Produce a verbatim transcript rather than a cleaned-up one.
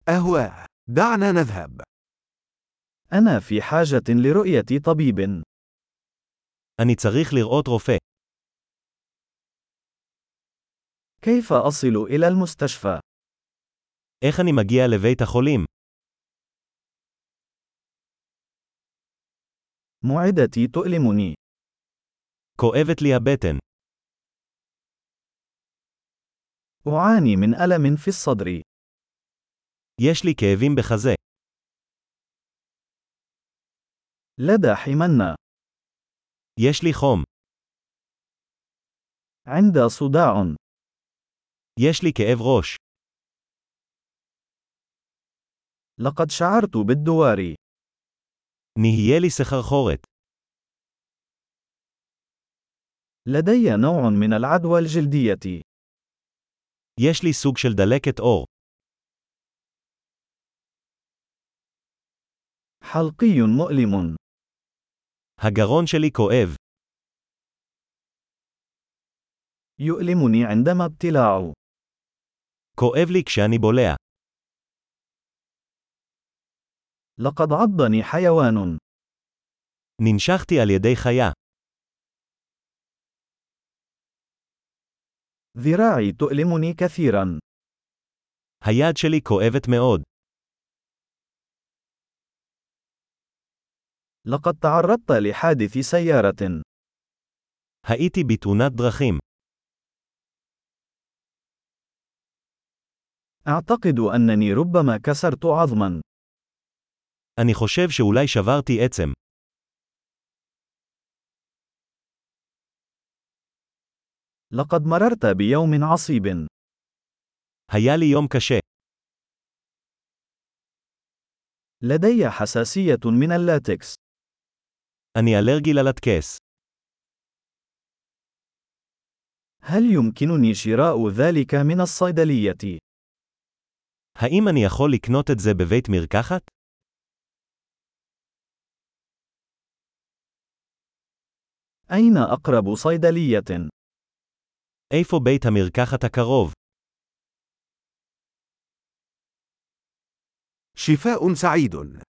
أهواه. دعنا نذهب. أنا في حاجة لرؤية طبيب. אני צריך לראות רופא. كيف أصل إلى المستشفى؟ איך אני מגיע לבית החולים? معدتي تؤلمني. כואבת לי הבטן. أعاني من ألم في الصدر. יש לי כאבים בחזה. لدى حمنة. יש לי חום. عند صداع. יש לי כאב ראש. لقد شعرت بالدوار. נהיה לי סחרחורת. لدي نوع من العدوى الجلدية. יש לי סוג של דלקת עור. حلقي مؤلم. הגרון שלי כואב. يؤلمني عندما ابتلاع. כואב לי כשאני בולע. لقد عضني حيوان. ננשכתי על ידי חיה. ذراعي تؤلمني كثيرا. היד שלי כואבת מאוד. لقد تعرضت لحادث سيارة. הייתי בתאונת דרכים. أعتقد أنني ربما كسرت عظما. אני חושב שאולי שברתי עצם. لقد مررت بيوم عصيب. היה לי יום קשה. لدي حساسية من اللاتكس. אני אלרגי ללטקס. هل يمكنني شراء ذلك من الصيدلية؟ האם אני יכול לקנות את זה בבית מרקחת? أين أقرب صيدلية؟ איפה בית המרקחת הקרוב? شفاء سعيد.